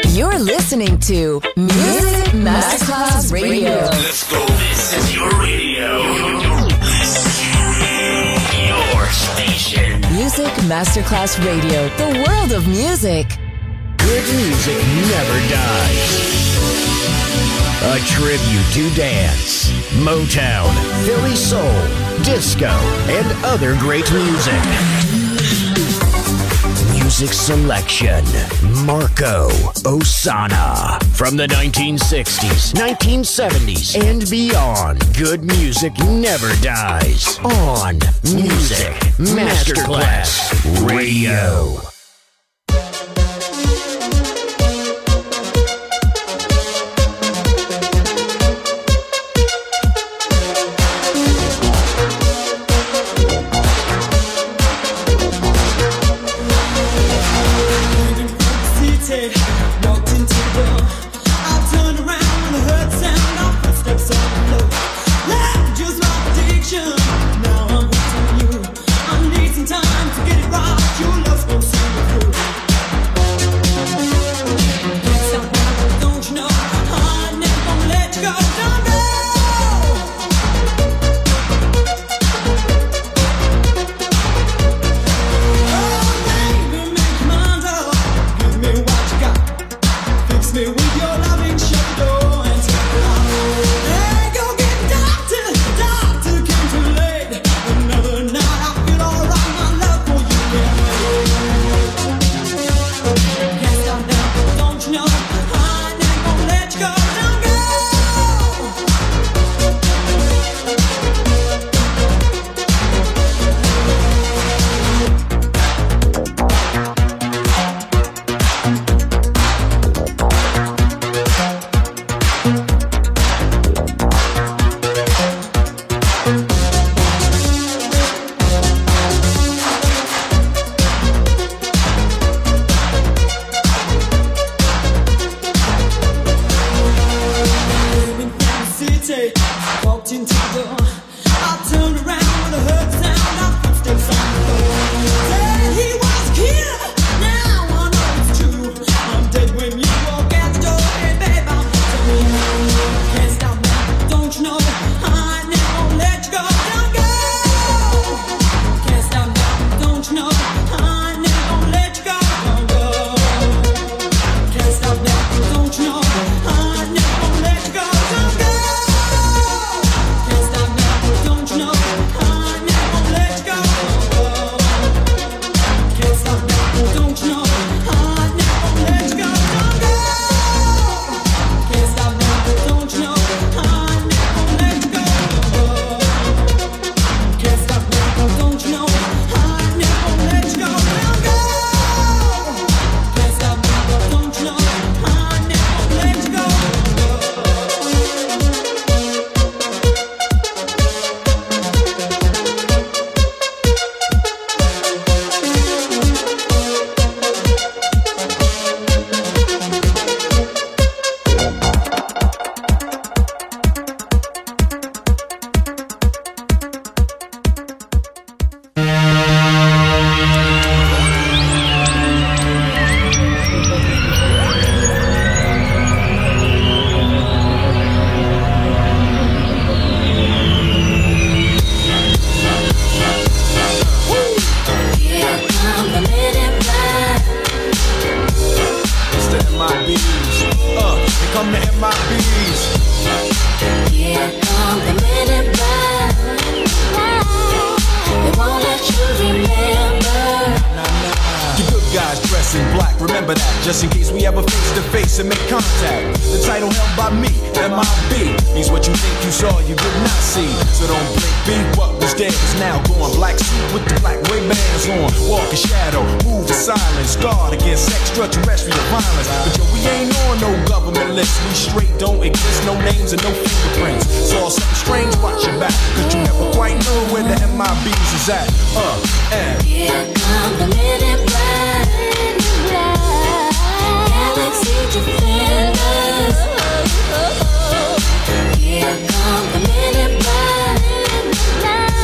You're listening to Music Masterclass Radio. Let's go. This is your radio. Your station. Music Masterclass Radio. The world of music. Good music never dies. A tribute to dance, Motown, Philly soul, disco, and other great music. Music selection, Marco Ossanna. From the 1960s, 1970s, and beyond, good music never dies. On Music Masterclass Radio.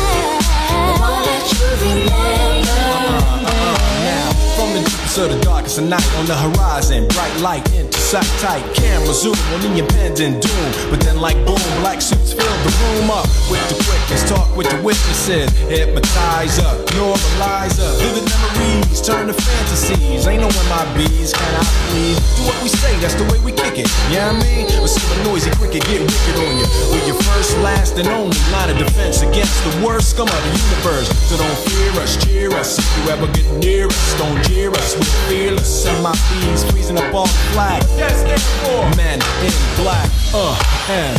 To the darkest a night on the horizon, bright light into sight tight. Camera zoom on the impending doom, but then like boom, black suits fill the room up with the quickness. Talk with the witnesses, hypnotizer, normalizer. Vivid memories turn to fantasies. Ain't no MIBs, can I please? Do what we say, that's the way we kick it. Yeah, you know what I mean? Or see a noisy cricket get wicked on you. With your first, last, and only line of defense against the worst scum of the universe. So don't fear us, cheer us. If you ever get near us, don't jeer us. We're fearless. MIBs freezing up all the flag. Yes, that's for men in black. And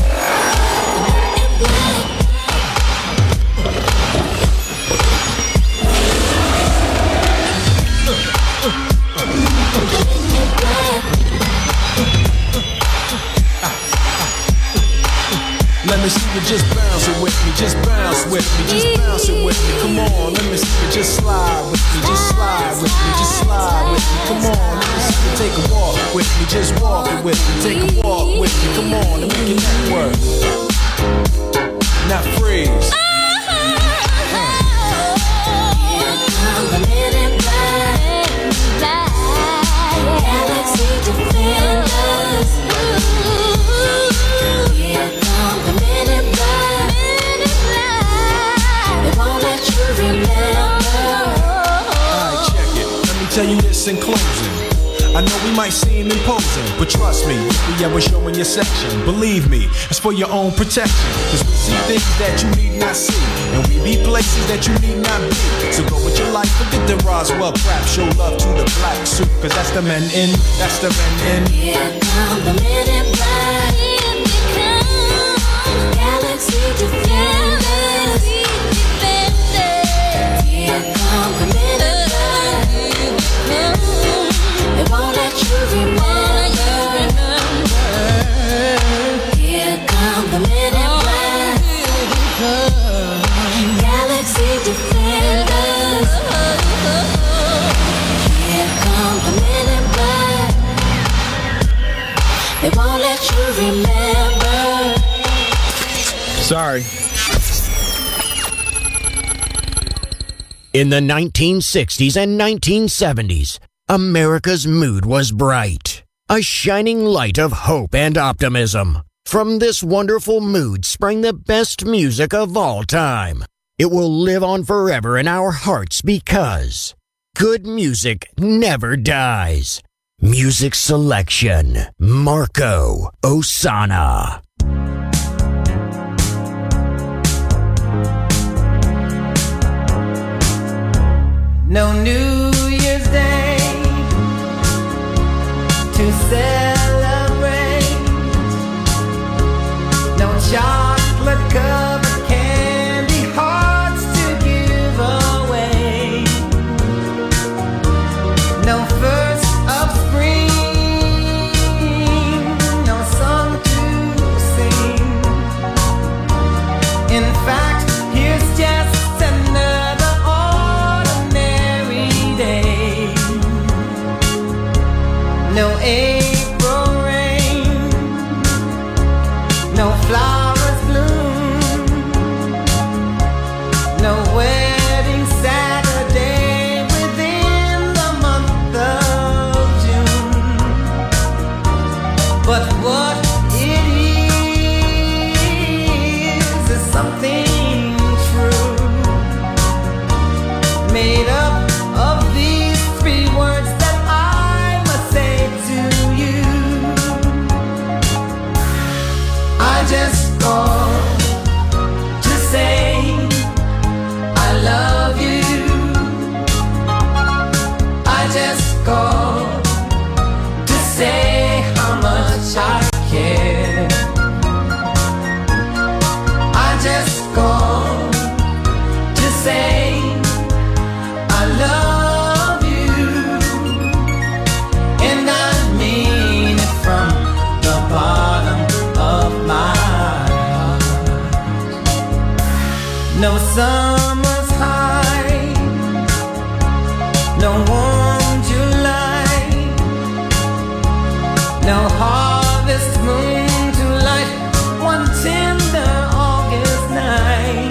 let me see you just bounce it with me, just bounce with me, just bounce it with me. Come on, let me see you just slide with me, just slide with me, just slide with me. Come on, let me see you take a walk with me, just walk it with me, take a walk with me. Come on, let me get that work. Now freeze. Galaxy Defenders. Here come the Men in Black. They won't let you remember. Alright, check it. Let me tell you this in closing. I know we might seem imposing, but trust me, we ever showing your section. Believe me, it's for your own protection. Cause we see things that you need not see, and we be places that you need not be. So go with your life, forget the Roswell crap. Show love to the black suit, cause that's the men in, that's the men in. Here come the Men in Black. Here we come. Galaxy Defenders. Here come the Men in Black. They won't let you remember. Here come the Men in Black. Galaxy Defenders. Here come the Men in Black. They won't let you remember. Sorry. In the 1960s and 1970s, America's mood was bright, a shining light of hope and optimism. From this wonderful mood sprang the best music of all time. It will live on forever in our hearts because good music never dies. Music selection, Marco Ossanna. No New Year's Day to celebrate. No chocolate covered candy hearts to give away. No first of spring, no song to sing. In fact, here's just another ordinary day. No April rain, no flowers bloom, no wedding Saturday within the month of June. But what it is something true, made up of these three words that I must say to you. I just called to say I love you. I just called to say how much I care. I just called to say I love you, and I mean it from the bottom of my heart. No summer's high, no warm July, no harvest moon to light one tender August night.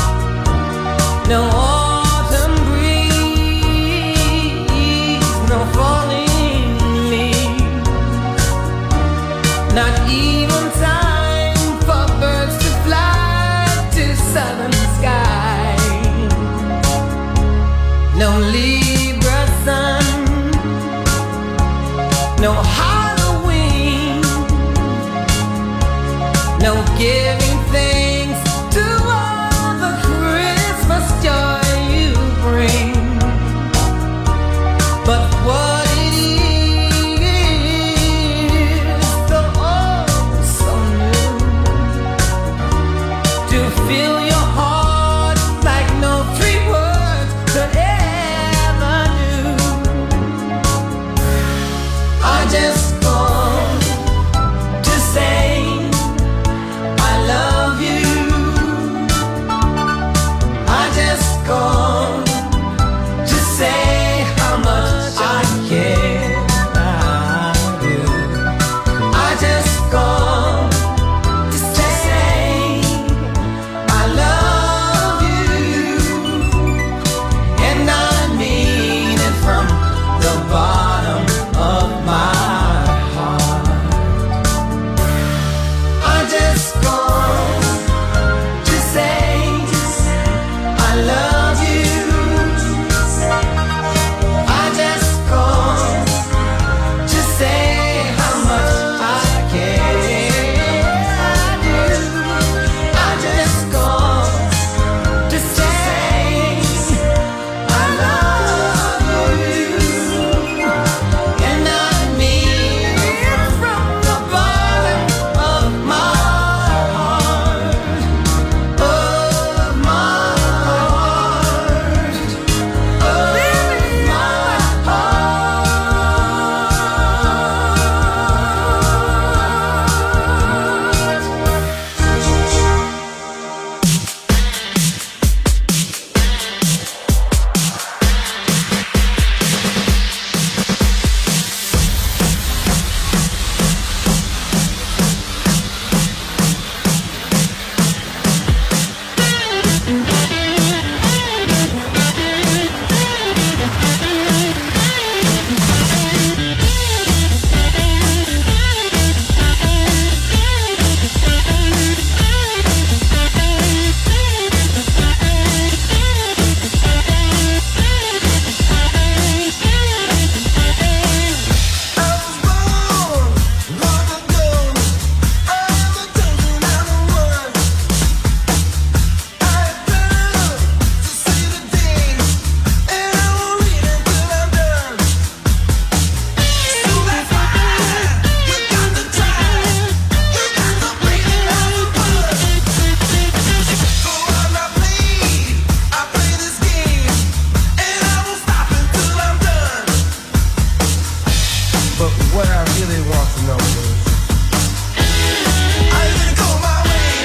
No autumn breeze, no no Halloween, no giving thanks to all the Christmas joy you bring. But what it is, so oh so new, to feel your heart like no three words could ever do. I just want to say I love you. I just want to say how much I care. I do. I just want to say I love you, and I mean it from the bottom of my heart. I just want to say I love you. I just want to say how much I care. I do. I just want to say I love you, and I mean it from the bottom of my heart, of my heart, of my But what I really want to know is, are you gonna go my way?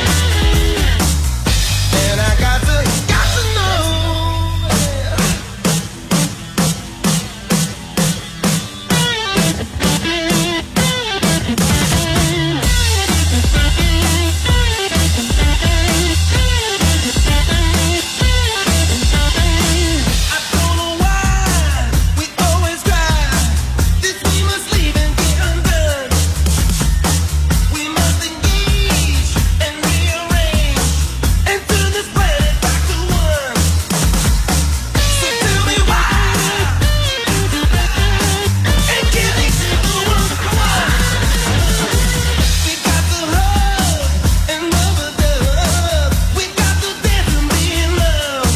And I got to know. I don't know why we always cry. This we must leave and get undone. We must engage and rearrange and turn this planet back to one. So tell me why and give me to the one. We got to hug and love and love. We got to dance and be in love.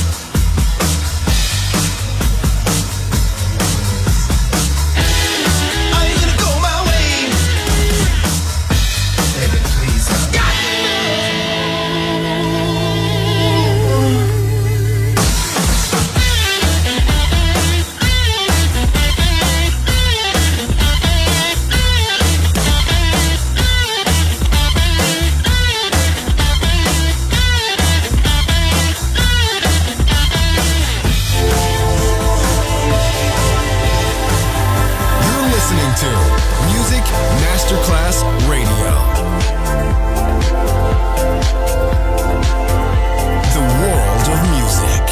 Are you gonna go my way? Baby, please. You're listening to Music Masterclass Radio. The world of music.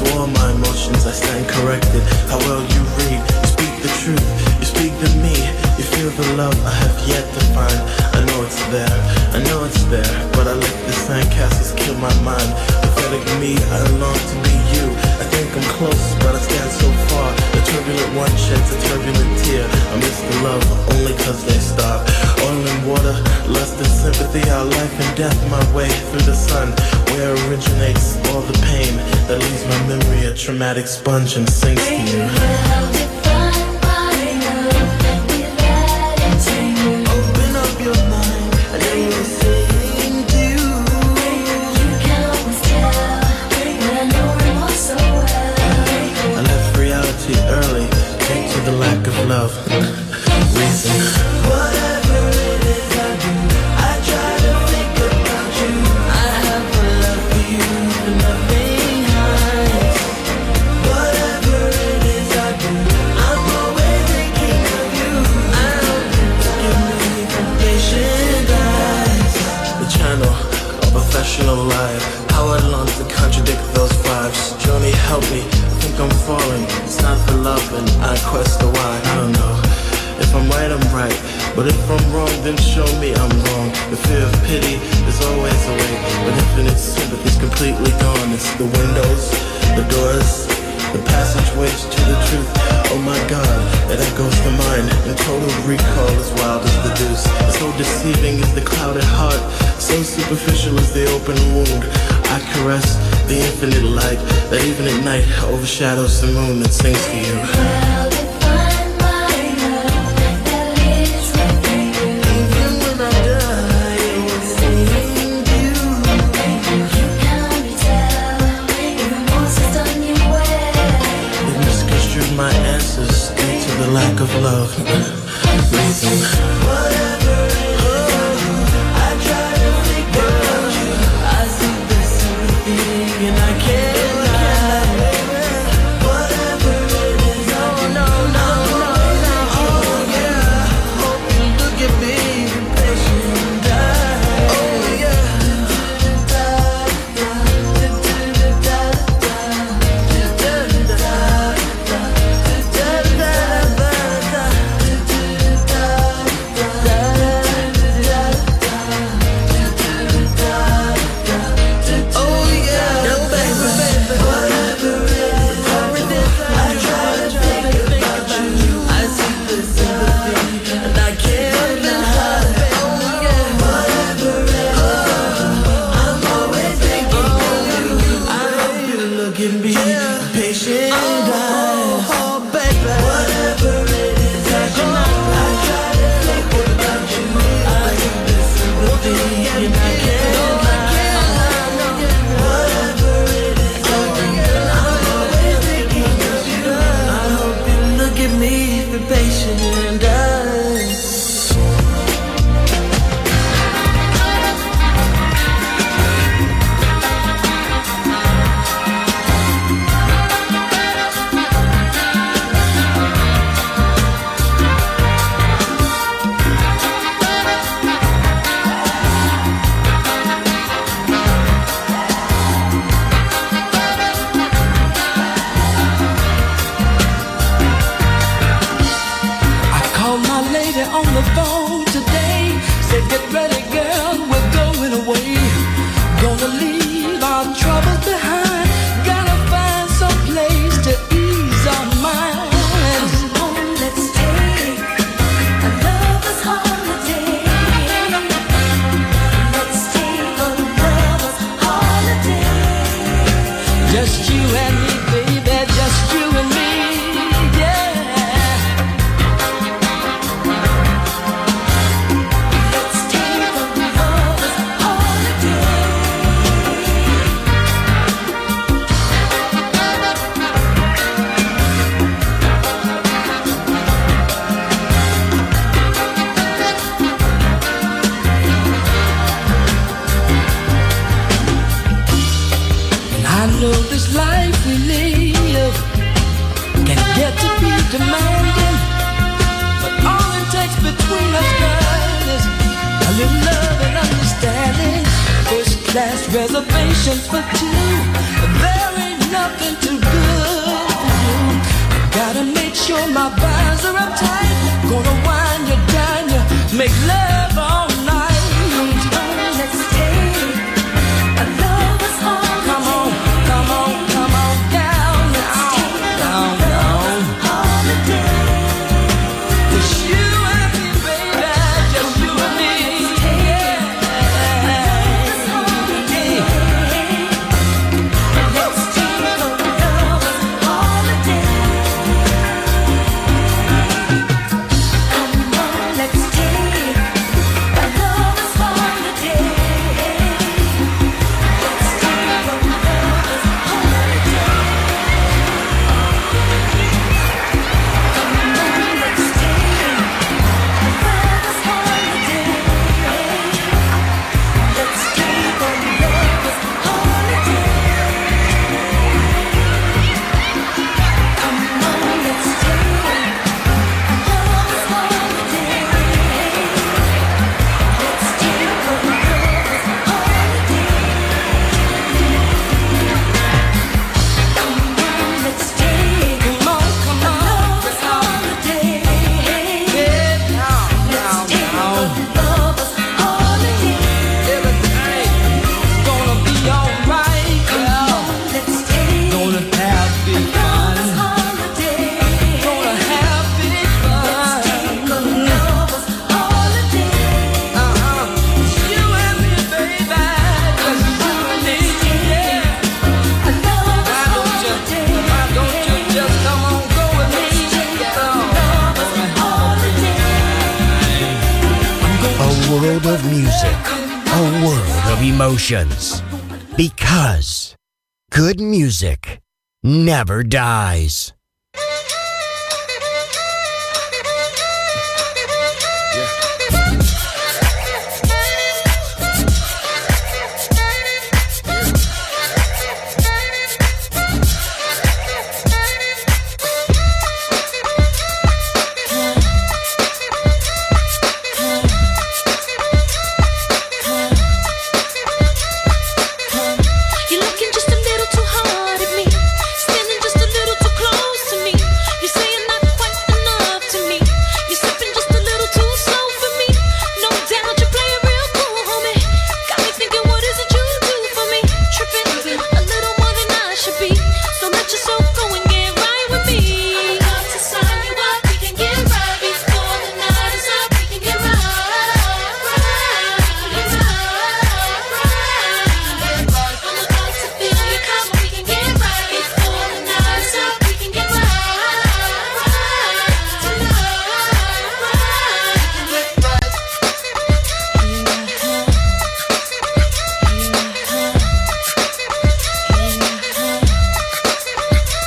For all my emotions I stand corrected. How well you read, you speak the truth, you speak to me. You feel the love I have yet to find. I know it's there, I know it's there, but I let the sandcastles kill my mind. Pathetic me, I long to be you. I think I'm close, but I stand so far. The turbulent one sheds a turbulent tear. I miss the love only cause they starve. Oil and water, lust and sympathy, our life and death, my way through the sun. Where originates all the pain that leaves my memory a traumatic sponge and sinks to you. Early, due to the lack of love. Reason. Whatever it is I do, I try to think about you. I have a love for you, nothing hides. Whatever it is I do, I'm always thinking of you. I hope you give me patient eyes. The channel, a professional life. How I long to contradict those vibes. Johnny, help me. I'm falling, it's not for love and I quest the why. I don't know, if I'm right, I'm right, but if I'm wrong, then show me I'm wrong. The fear of pity is always awake, but infinite sympathy's completely gone. It's the windows, the doors, the passageways to the truth. Oh my God, that echoes the mind, and total recall is wild as the deuce. So deceiving is the clouded heart, so superficial is the open wound. I caress the infinite light that even at night overshadows the moon that sings to you. Well defined my love that lives within you. Even when I die, it will sing you. You can't be tell, even once it's done you well. It misconstrued my answers due to the lack of love. Reason. Whatever it is, I try to think about you. I see the sympathy and I can't lie. Whatever it is, no, oh yeah. Hope you look at me, patient and die. Oh yeah. demanding, but all it takes between us, girl, is a little love and understanding. First class reservations for two, there ain't no something too good for you. Gotta make sure my vines are uptight. Gonna wind you down, you make love all night. Let's take a lover's holiday. Come on, come on, come on down, down, down. Just you and me, baby, just you and me. Yeah. Let's take a lover's holiday. Come on, let's take a lover's holiday. Let's take a lover's holiday. Come on, let's take a lover's holiday. Let's take a lover's holiday. Come on, let's take a lover's holiday. Let's take a lover's holiday. Come on, let's take a lover's holiday. Let's take a lover's holiday. Everything's gonna be alright, girl. Let's take gonna have big fun. Gonna have big fun. Lover's holiday. It's you and me, baby. Just you and me, yeah. Why don't you just come on, go with me? A world of music, a world of emotions. Because good music never dies. You're looking just a little too hard at me, standing just a little too close to me. You're saying not quite enough to me. You're sipping just a little too slow for me. No doubt you're playing real cool, homie. Got me thinking, what is it you do for me? Tripping a little more than I should be. So let yourself go and get right with me. I'm about to sign you up, we can get right before the night is up. We can get right, get right. I'm about to fill your cup, we can get right before the night is up. We can get right tonight.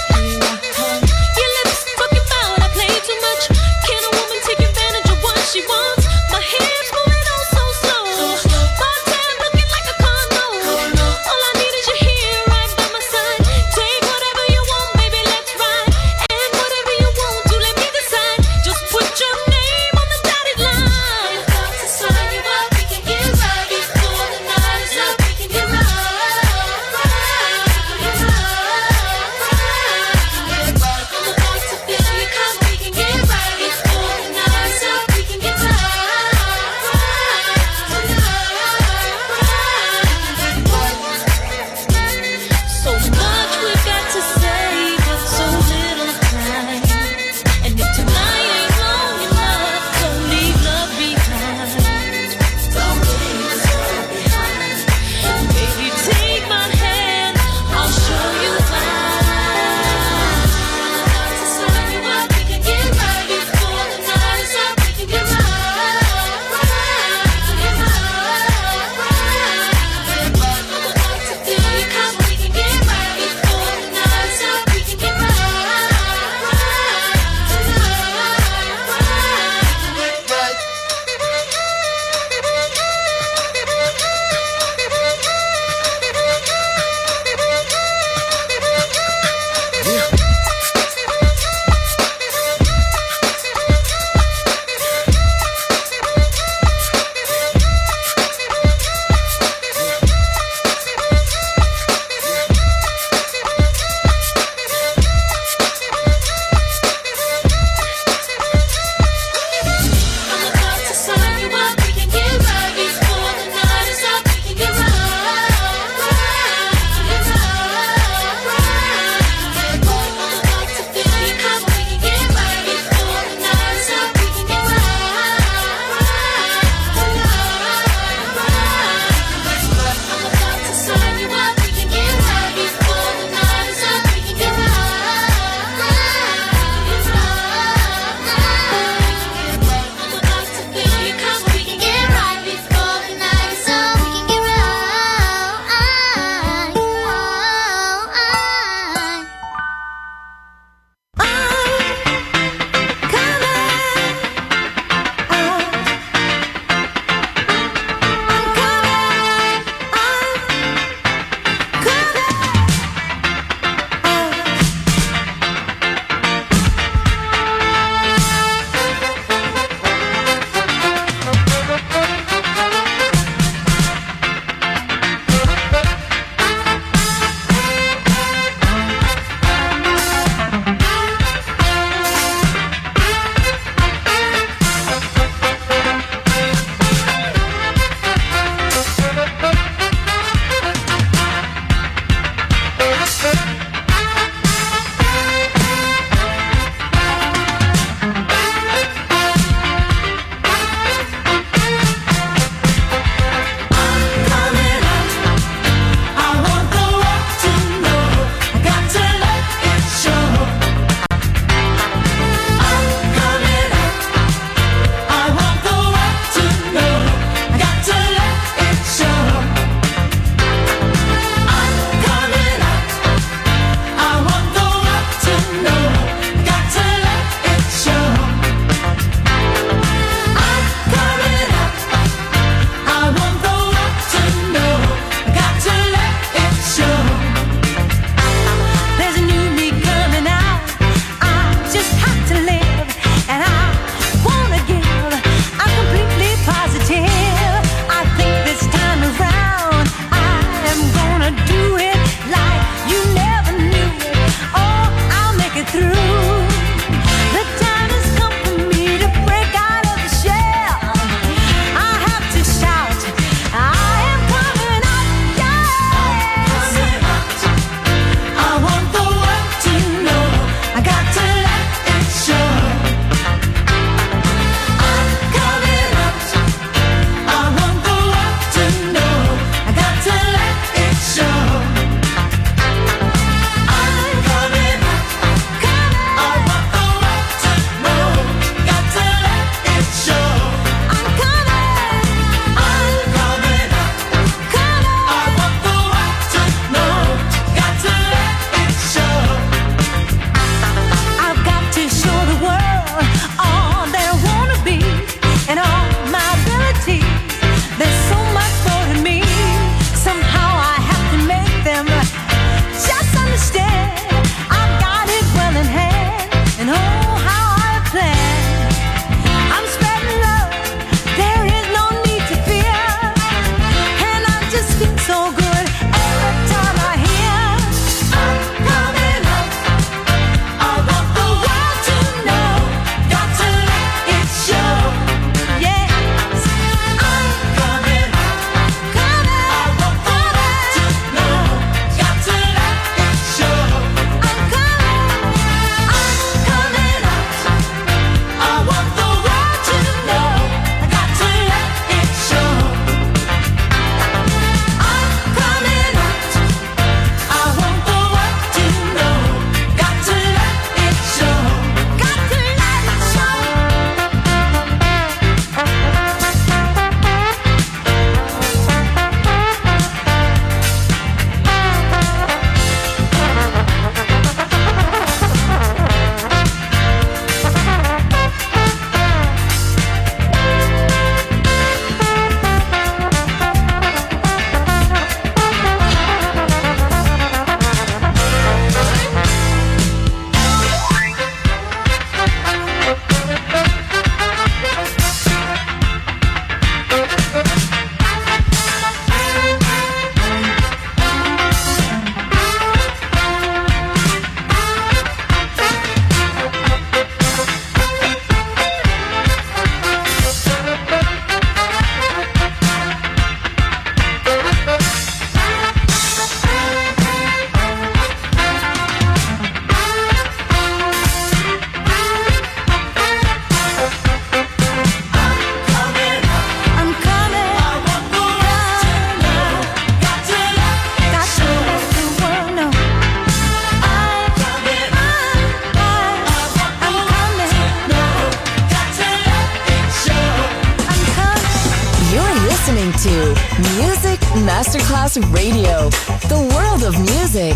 to Music Masterclass Radio, the world of music.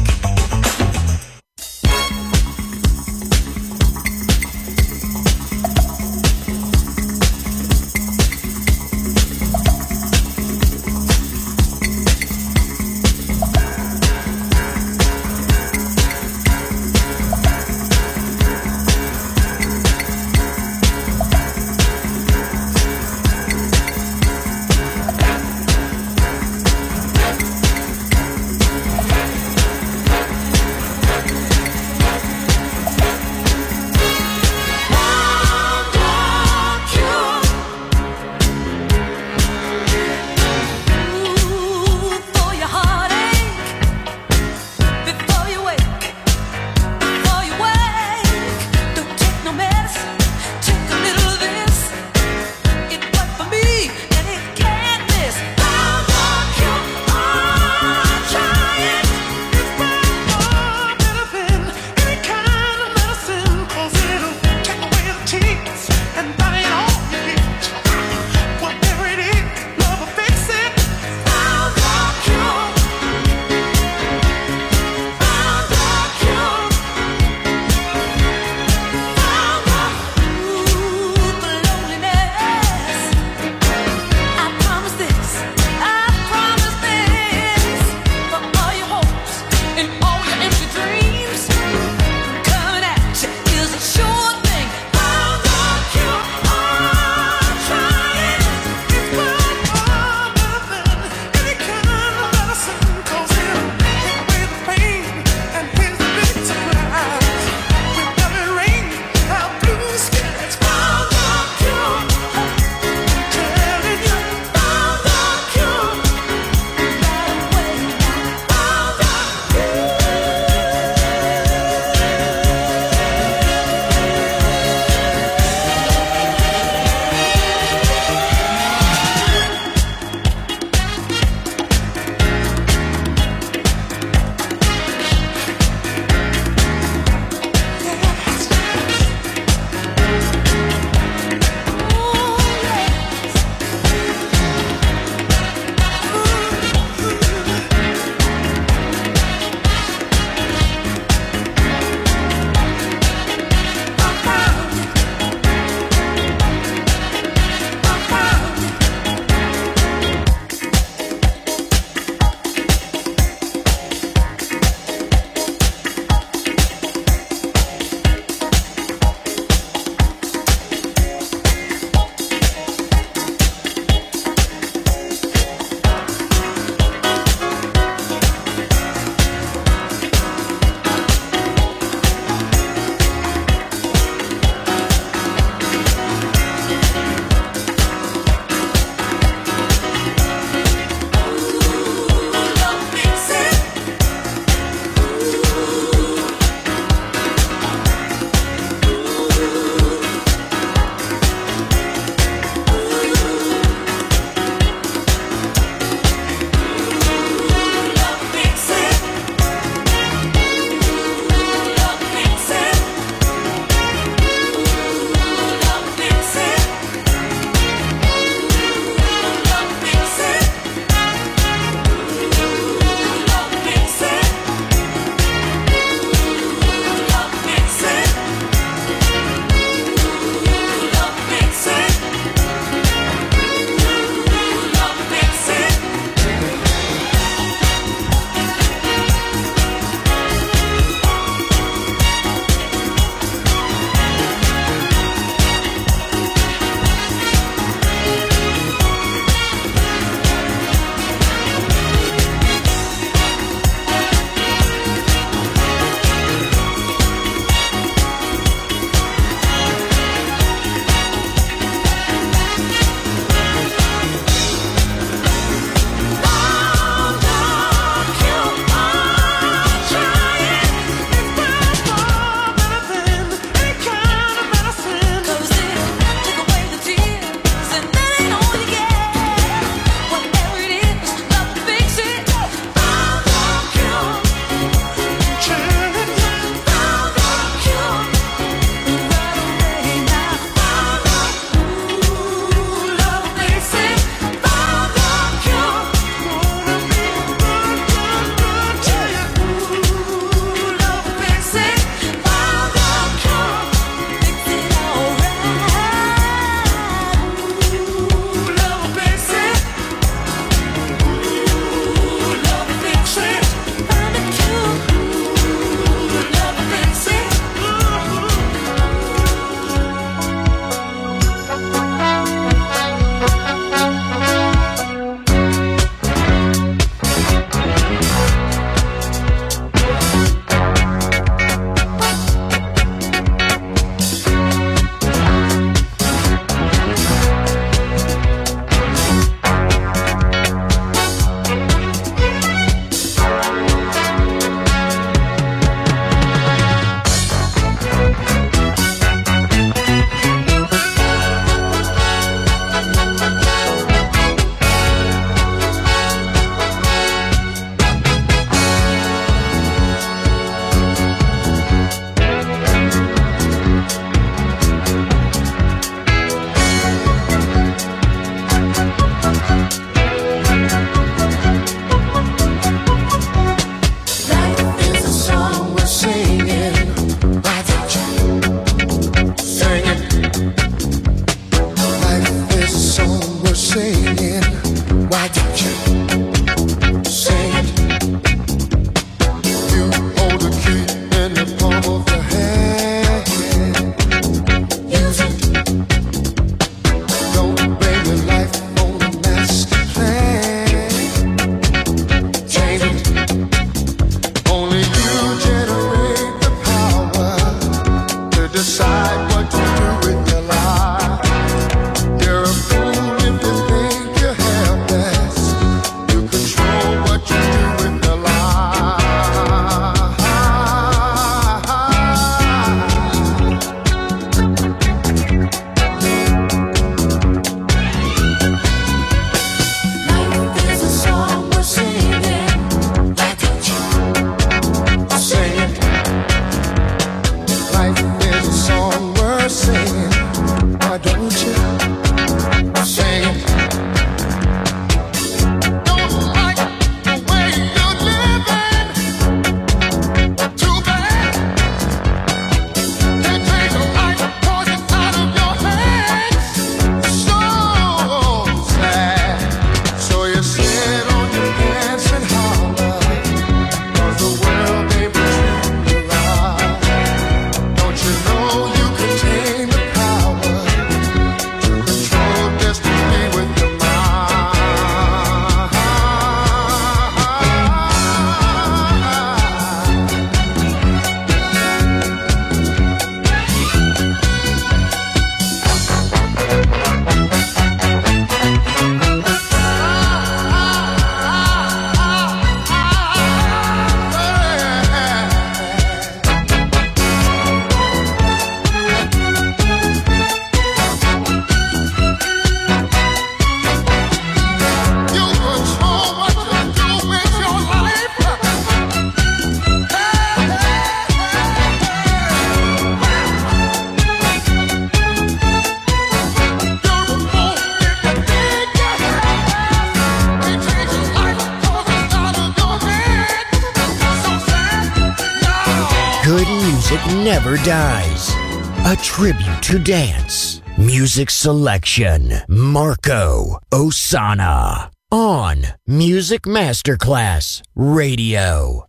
music never dies. A tribute to dance. Music selection. Marco Ossanna. On Music Masterclass Radio.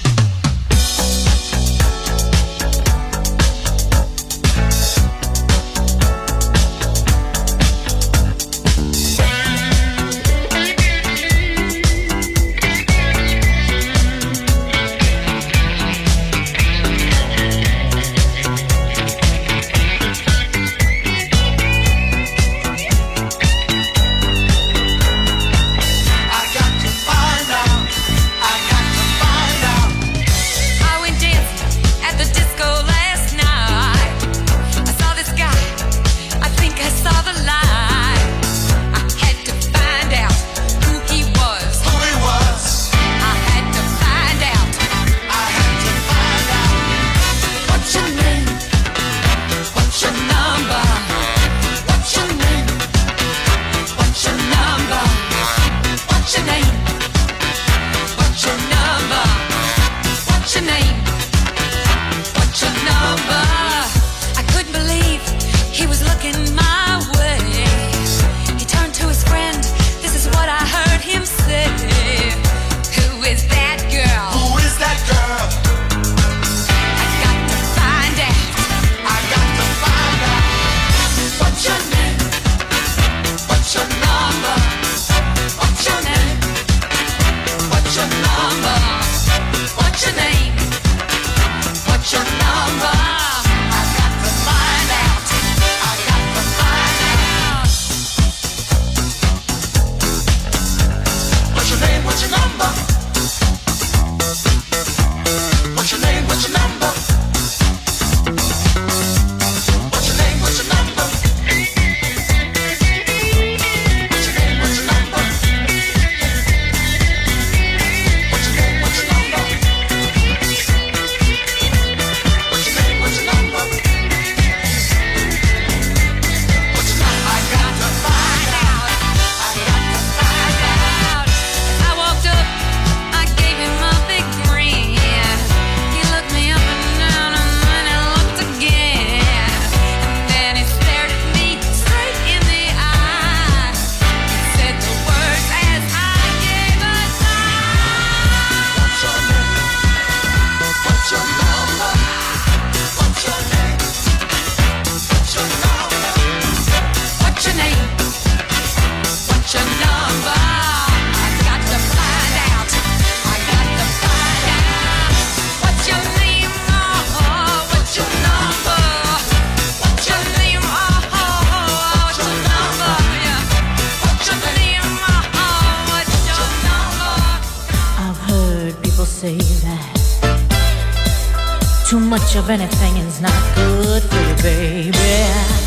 Of anything is not good for you, baby.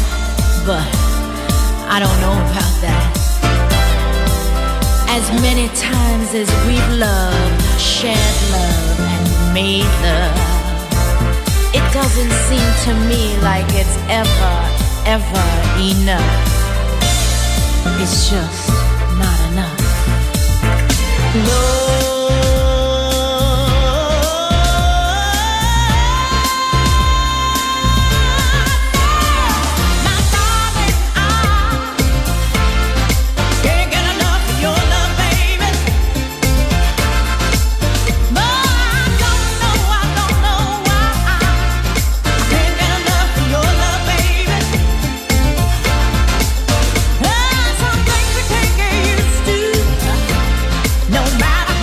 But I don't know about that. As many times as we've loved, shared love, and made love, it doesn't seem to me like it's ever enough. It's just not enough. No. No matter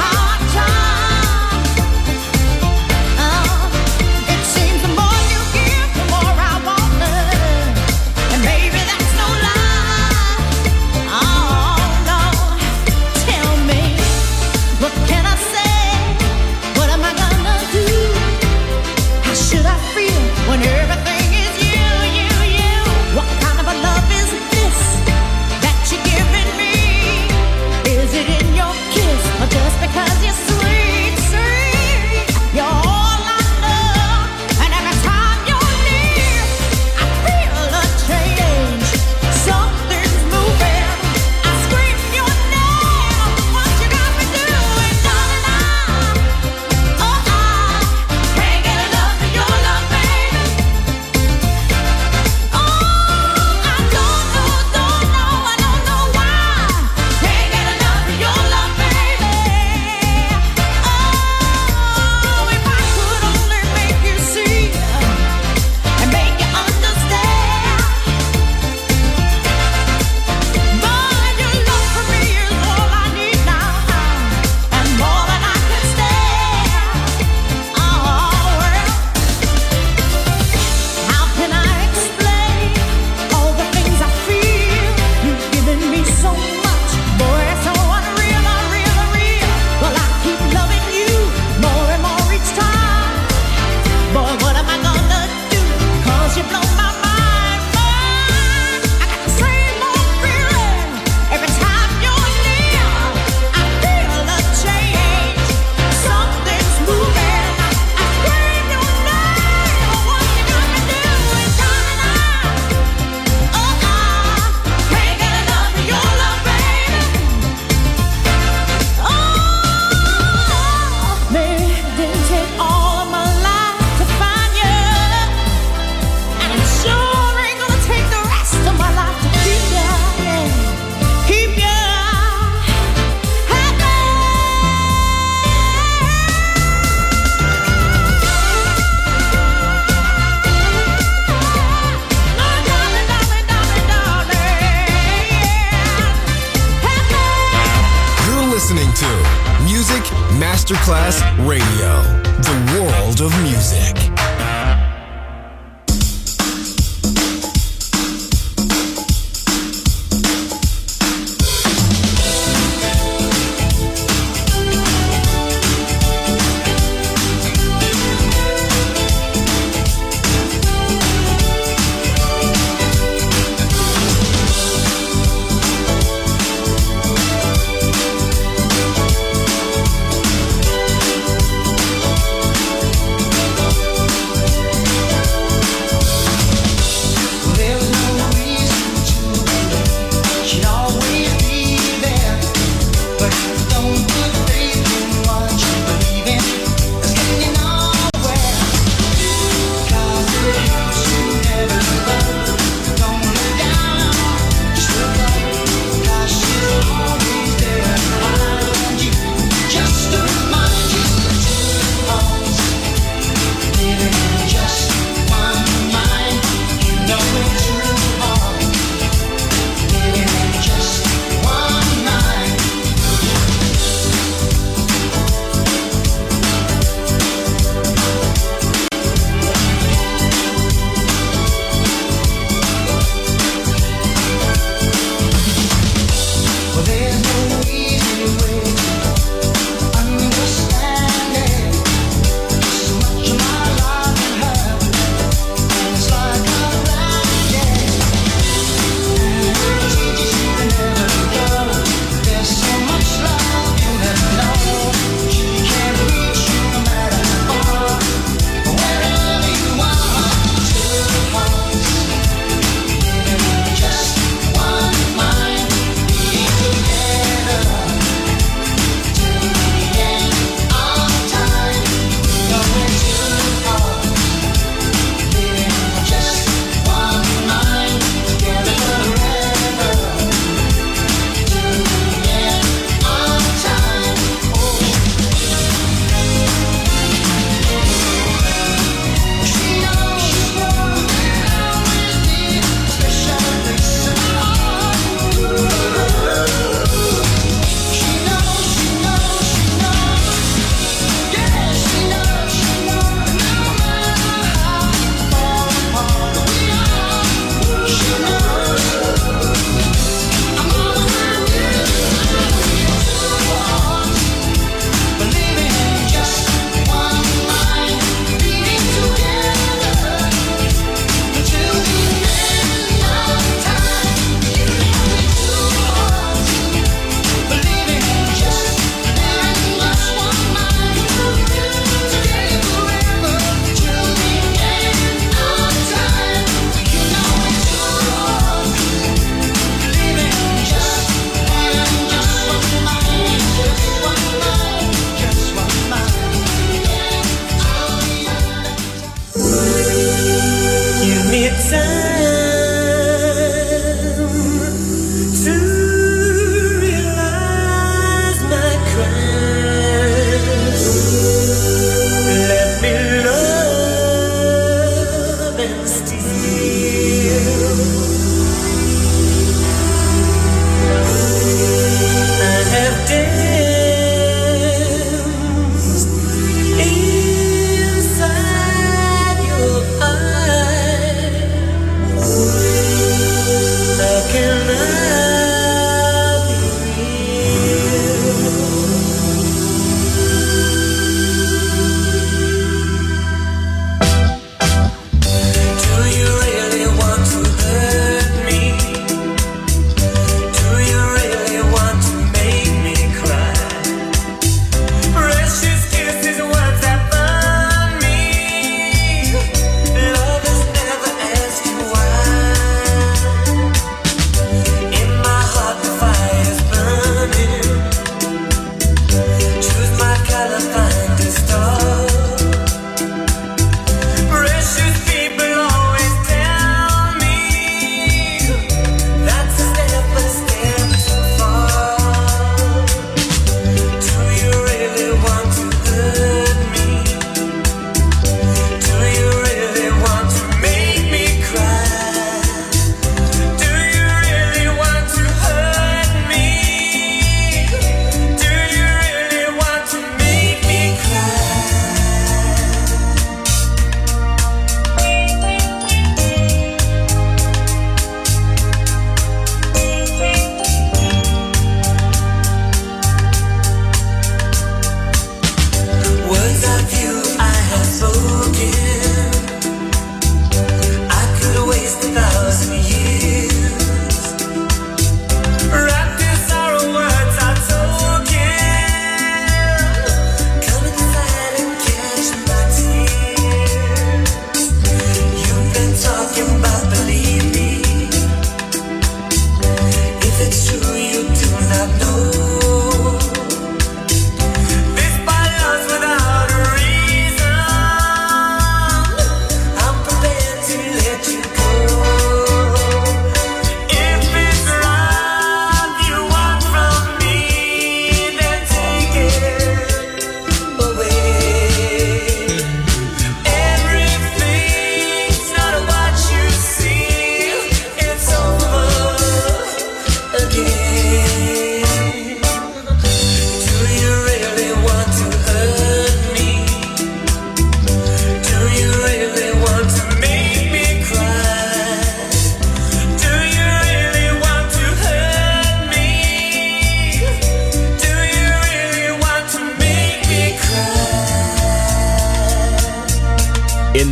Masterclass Radio, the world of music.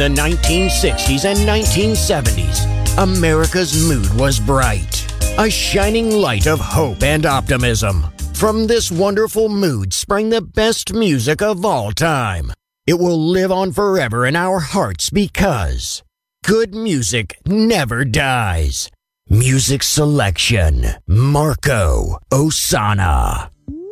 the 1960s and 1970s, America's mood was bright, a shining light of hope and optimism. From this wonderful mood sprang the best music of all time. It will live on forever in our hearts because good music never dies. Music selection, Marco Ossanna.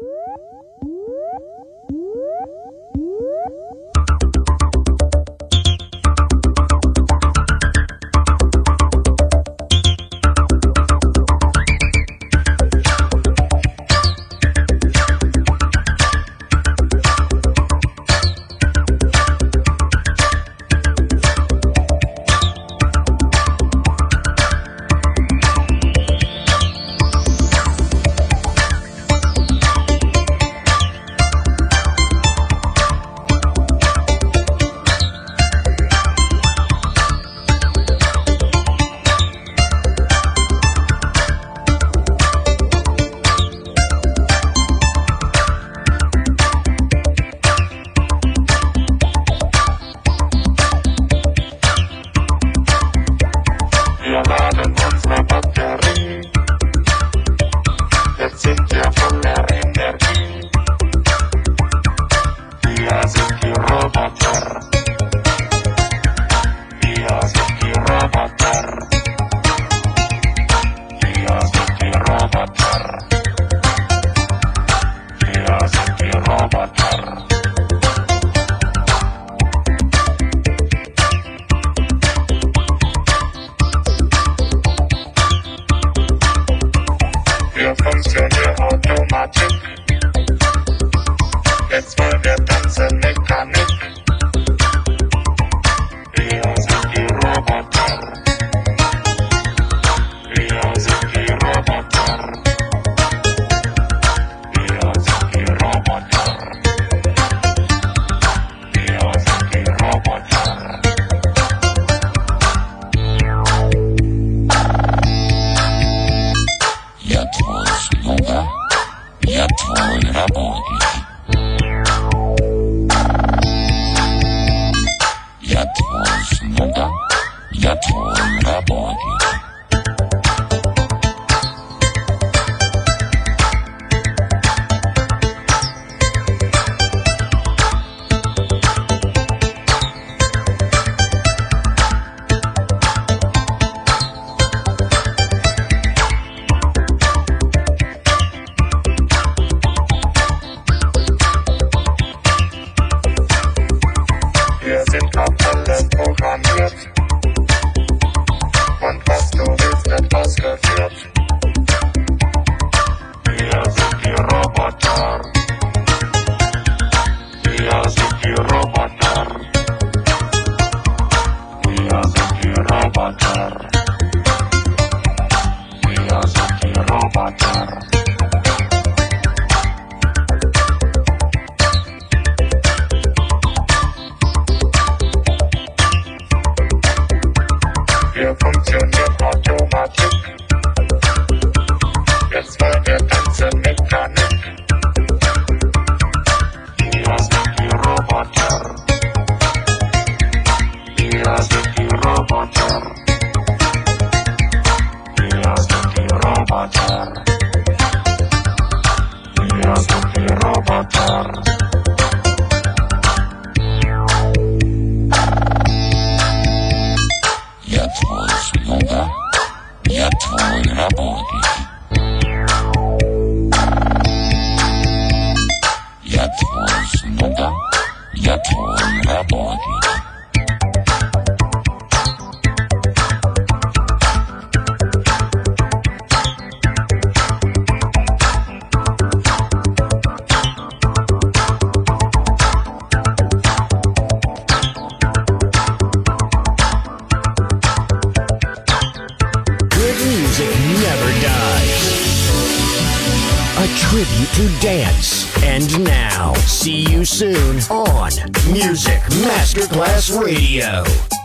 And now, see you soon on Music Masterclass Radio.